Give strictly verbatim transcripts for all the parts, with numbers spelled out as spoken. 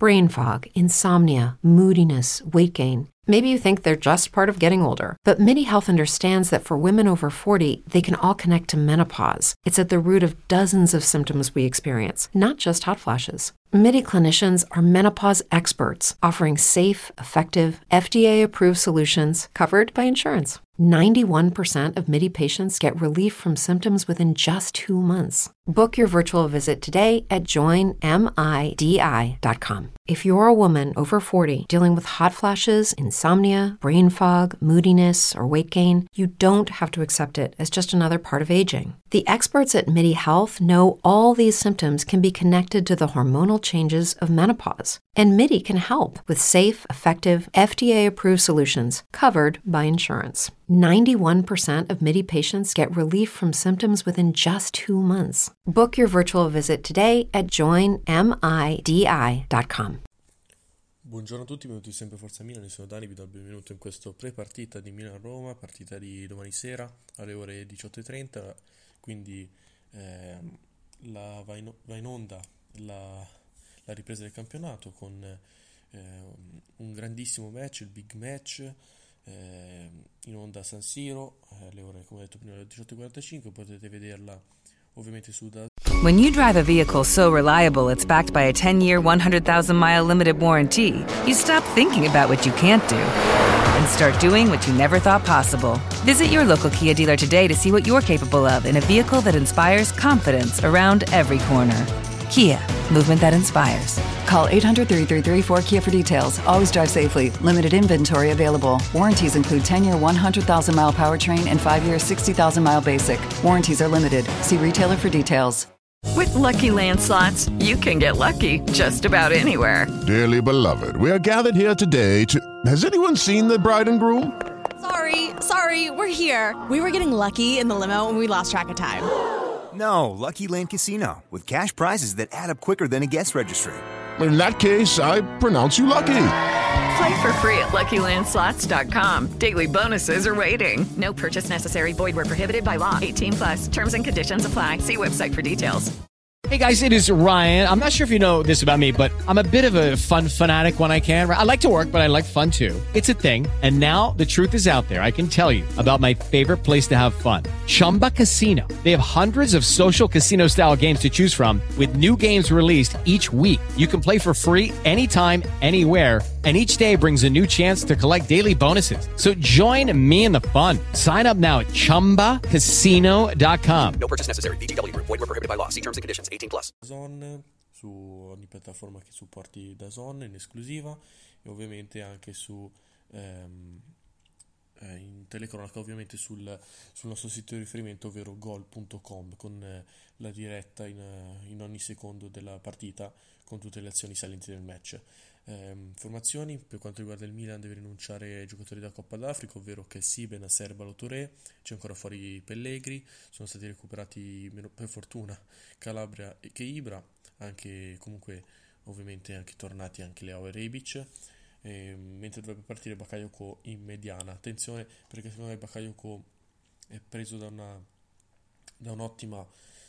brain fog, insomnia, moodiness, weight gain. Maybe you think they're just part of getting older, but MIDI Health understands that for women over forty, they can all connect to menopause. It's at the root of dozens of symptoms we experience, not just hot flashes. MIDI clinicians are menopause experts, offering safe, effective, F D A-approved solutions covered by insurance. ninety-one percent of MIDI patients get relief from symptoms within just two months. Book your virtual visit today at join midi dot com. If you're a woman over forty dealing with hot flashes, insomnia, brain fog, moodiness, or weight gain, you don't have to accept it as just another part of aging. The experts at MIDI Health know all these symptoms can be connected to the hormonal changes of menopause, and MIDI can help with safe, effective, F D A-approved solutions covered by insurance. ninety-one percent of MIDI patients get relief from symptoms within just two months. Book your virtual visit today at join midi dot com. Buongiorno a tutti, benvenuti sempre Forza Milan, io sono Dani, vi do il benvenuto in questo pre-partita di Milan-Roma, partita di domani sera alle ore diciotto e trenta, quindi eh, la, va, in, va in onda la, la ripresa del campionato con eh, un grandissimo match, il big match, eh, in onda a San Siro, eh, alle ore, come ho detto prima, alle diciotto e quarantacinque, potete vederla ovviamente su da. When you drive a vehicle so reliable it's backed by a ten-year, one hundred thousand mile limited warranty, you stop thinking about what you can't do and start doing what you never thought possible. Visit your local Kia dealer today to see what you're capable of in a vehicle that inspires confidence around every corner. Kia, movement that inspires. Call eight hundred, three three three, four K I A for details. Always drive safely. Limited inventory available. Warranties include ten-year, one hundred thousand mile powertrain and five-year, sixty thousand mile basic. Warranties are limited. See retailer for details. With Lucky Land Slots, you can get lucky just about anywhere. Dearly beloved, we are gathered here today to... Has anyone seen the bride and groom? Sorry, sorry, we're here. We were getting lucky in the limo and we lost track of time. No, Lucky Land Casino, with cash prizes that add up quicker than a guest registry. In that case, I pronounce you lucky. Play for free at lucky land slots dot com. Daily bonuses are waiting. No purchase necessary. Void where prohibited by law. eighteen plus. Terms and conditions apply. See website for details. Hey guys, it is Ryan. I'm not sure if you know this about me, but I'm a bit of a fun fanatic when I can. I like to work, but I like fun too. It's a thing. And now the truth is out there. I can tell you about my favorite place to have fun. Chumba Casino. They have hundreds of social casino style games to choose from with new games released each week. You can play for free anytime, anywhere. And each day brings a new chance to collect daily bonuses. So join me in the fun. Sign up now at chumba casino dot com. No purchase necessary. V G W. Void where prohibited by law. See terms and conditions. eighteen plus. DAZN, su ogni piattaforma che supporti DAZN in esclusiva e ovviamente anche su ehm, eh, in telecronaca, ovviamente sul, sul nostro sito di riferimento, ovvero gol punto com, con eh, la diretta in, in ogni secondo della partita con tutte le azioni salienti del match. Eh, informazioni per quanto riguarda il Milan: deve rinunciare ai giocatori da Coppa d'Africa, ovvero Kessie, Bennacer, Ballo-Touré. C'è ancora fuori Pellegri, sono stati recuperati per fortuna Calabria e Cheibra, anche comunque ovviamente anche tornati anche Leao e Rebic, eh, mentre dovrebbe partire Bakayoko in mediana. Attenzione, perché secondo me Bakayoko è preso da una da un'ottima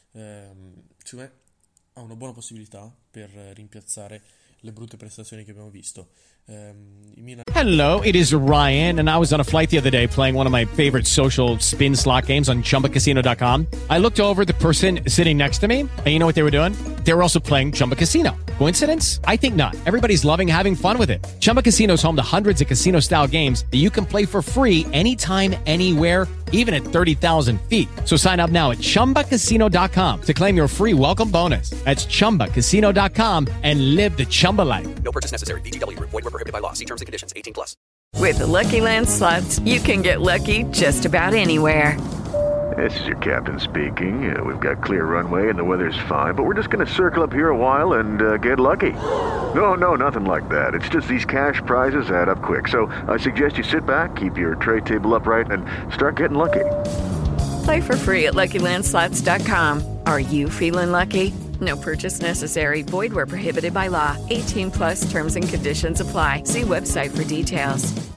ehm, secondo me ha una buona possibilità per rimpiazzare le brutte prestazioni che abbiamo visto. Um, Hello, it is Ryan, and I was on a flight the other day playing one of my favorite social spin slot games on chumba casino dot com. I looked over at the person sitting next to me, and you know what they were doing? They were also playing Chumba Casino. Coincidence? I think not. Everybody's loving having fun with it. Chumba Casino is home to hundreds of casino-style games that you can play for free anytime, anywhere, even at thirty thousand feet. So sign up now at chumba casino dot com to claim your free welcome bonus. That's chumba casino dot com and live the Chumba life. No purchase necessary. V G W. Void where prohibited by law. See terms and conditions. eighteen plus. With the Lucky Land Slots, you can get lucky just about anywhere. This is your captain speaking. Uh, we've got clear runway and the weather's fine, but we're just going to circle up here a while and uh, get lucky. No, no, nothing like that. It's just these cash prizes add up quick. So I suggest you sit back, keep your tray table upright, and start getting lucky. Play for free at lucky land slots dot com. Are you feeling lucky? No purchase necessary. Void where prohibited by law. eighteen plus terms and conditions apply. See website for details.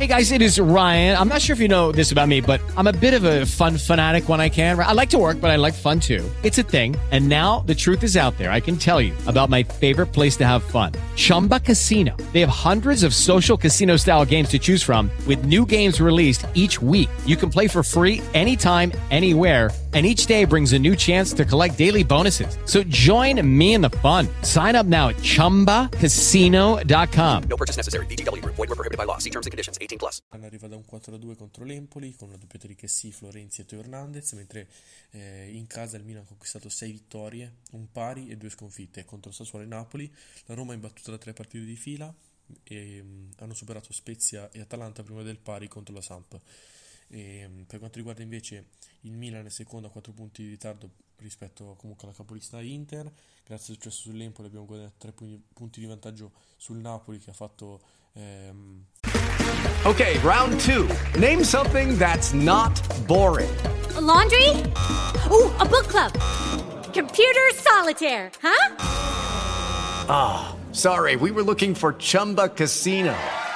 Hey guys, it is Ryan. I'm not sure if you know this about me, but I'm a bit of a fun fanatic when I can. I like to work, but I like fun too. It's a thing. And now the truth is out there. I can tell you about my favorite place to have fun. Chumba Casino. They have hundreds of social casino style games to choose from with new games released each week. You can play for free anytime, anywhere. And each day brings a new chance to collect daily bonuses. So join me in the fun. Sign up now at chumba casino dot com. No purchase necessary. V G W. Void where prohibited by law. See terms and conditions. eighteen plus. Arriva da un quattro a due contro l'Empoli con una doppietta di Kessie, Florenzi e Teo Hernandez, mentre eh, in casa il Milan ha conquistato sei vittorie, un pari e due sconfitte contro Sassuolo e Napoli. La Roma è imbattuta da tre partite di fila e mh, hanno superato Spezia e Atalanta prima del pari contro la Samp. E, mh, per quanto riguarda invece il Milan è secondo a quattro punti di ritardo rispetto comunque alla capolista Inter. Grazie al successo sull'Empoli abbiamo guadagnato tre punti di vantaggio sul Napoli che ha fatto ehm... Ok, round two. Name something that's not boring. A laundry? Ooh, a book club. Computer solitaire, huh? Ah, oh, sorry, we were looking for Chumba Casino.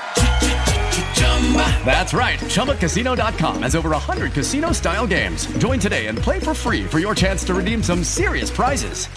That's right, Chumba Casino dot com has over one hundred casino-style games. Join today and play for free for your chance to redeem some serious prizes.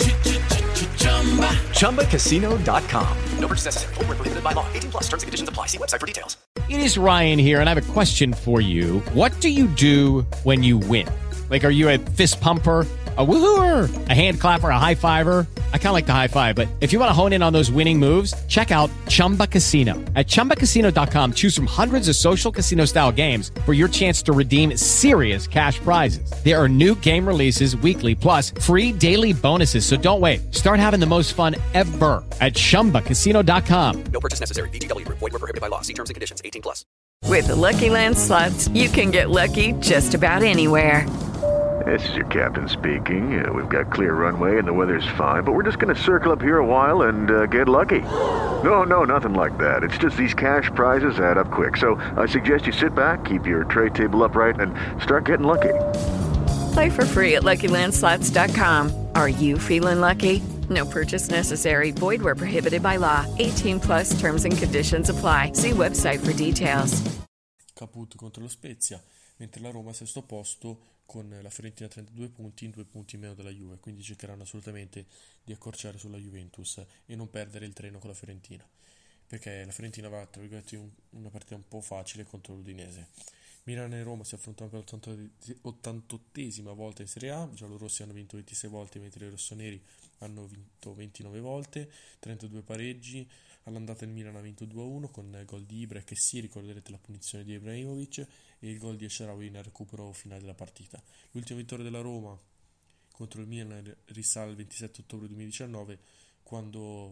Chumba Casino dot com. No purchase necessary. Void where prohibited by law. eighteen plus. Terms and conditions apply. See website for details. It is Ryan here, and I have a question for you. What do you do when you win? Like, are you a fist pumper, a woohooer, a hand clapper, a high fiver? I kind of like the high five, but if you want to hone in on those winning moves, check out Chumba Casino. At chumba casino dot com, choose from hundreds of social casino-style games for your chance to redeem serious cash prizes. There are new game releases weekly, plus free daily bonuses, so don't wait. Start having the most fun ever at chumba casino dot com. No purchase necessary. V G W. Void where prohibited by law. See terms and conditions. eighteen plus. With the Lucky Land Slots, you can get lucky just about anywhere. This is your captain speaking. Uh, we've got clear runway and the weather's fine, but we're just going to circle up here a while and uh, get lucky. No, no, nothing like that. It's just these cash prizes add up quick. So I suggest you sit back, keep your tray table upright, and start getting lucky. Play for free at lucky land slots dot com. Are you feeling lucky? No purchase necessary. Void where prohibited by law. eighteen plus terms and conditions apply. See website for details. Caput contro lo Spezia, mentre la Roma è al sesto posto con la Fiorentina trentadue punti, in due punti in meno della Juve, quindi cercheranno assolutamente di accorciare sulla Juventus e non perdere il treno con la Fiorentina, perché la Fiorentina va tra virgolette un, una partita un po' facile contro l'Udinese. Milan e Roma si affrontano per l'ottantottesima volta in Serie A, i giallorossi hanno vinto ventisei volte mentre i rossoneri hanno vinto ventinove volte, trentadue pareggi. All'andata il Milan ha vinto due a uno con gol di Ibra e Kessie, ricorderete la punizione di Ibrahimovic, e il gol di Esharawi nel recupero finale della partita. L'ultima vittoria della Roma contro il Milan risale al ventisette ottobre duemiladiciannove, quando...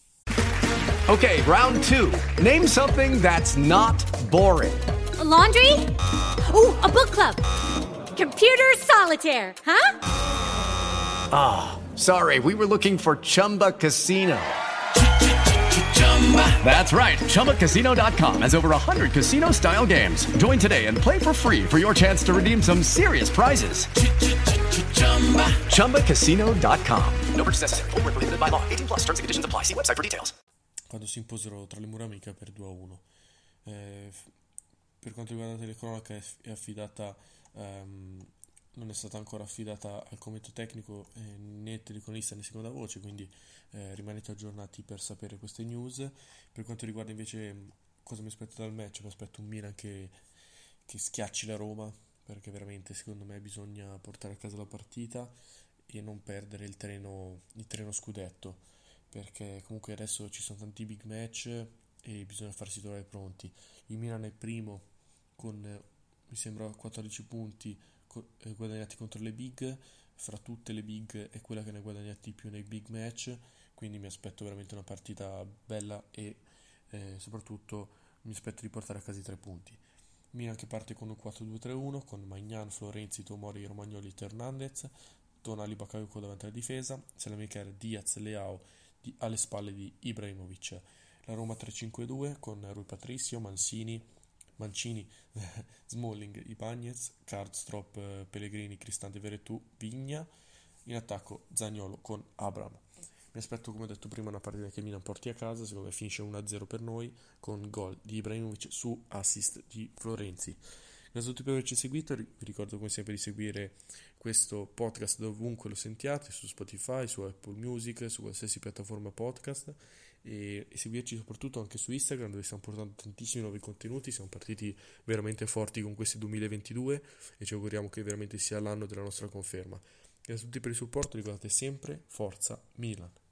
Ok, round two. Name something that's not boring. A laundry? Ooh, a book club. Computer solitaire, huh? Ah, oh, sorry, we were looking for Chumba Casino. That's right, Chumba Casino dot com has over one hundred casino-style games. Join today and play for free for your chance to redeem some serious prizes. Chumba Casino dot com. No purchase necessary. Void where prohibited by law. eighteen plus. Terms and conditions apply. See website for details. Quando si imposero tra le mura amiche per due a uno. Eh, per quanto riguarda la telecronaca è affidata... Um, non è stata ancora affidata al commento tecnico eh, né telecronista né seconda voce, quindi eh, rimanete aggiornati per sapere queste news. Per quanto riguarda invece cosa mi aspetto dal match, mi aspetto un Milan che, che schiacci la Roma, perché veramente secondo me bisogna portare a casa la partita e non perdere il treno, il treno scudetto, perché comunque adesso ci sono tanti big match e bisogna farsi trovare pronti. Il Milan è primo con mi sembra quattordici punti guadagnati contro le big, fra tutte le big è quella che ne ha guadagnati più nei big match, quindi mi aspetto veramente una partita bella e eh, soprattutto mi aspetto di portare a casa i tre punti. Milan che parte con un quattro due tre uno con Maignan, Florenzi, Tomori, Romagnoli, Hernandez, Tonali, Bakayoko davanti alla difesa, Salamaker, Diaz, Leao di, alle spalle di Ibrahimovic. La Roma tre cinque due con Rui Patricio, Mancini, Mancini, Smalling, Ibañez, Karsdorp, Pellegrini, Cristante, Veretù, Vigna. In attacco Zaniolo con Abraham. Mi aspetto, come ho detto prima, una partita che il Milan porti a casa. Secondo me finisce uno a zero per noi, con gol di Ibrahimovic su assist di Florenzi. Grazie a tutti per averci seguito. Vi ricordo come sempre di seguire questo podcast dovunque lo sentiate, su Spotify, su Apple Music, su qualsiasi piattaforma podcast, e, e seguirci soprattutto anche su Instagram, dove stiamo portando tantissimi nuovi contenuti. Siamo partiti veramente forti con questi duemilaventidue e ci auguriamo che veramente sia l'anno della nostra conferma. Grazie a tutti per il supporto, ricordate sempre Forza Milan.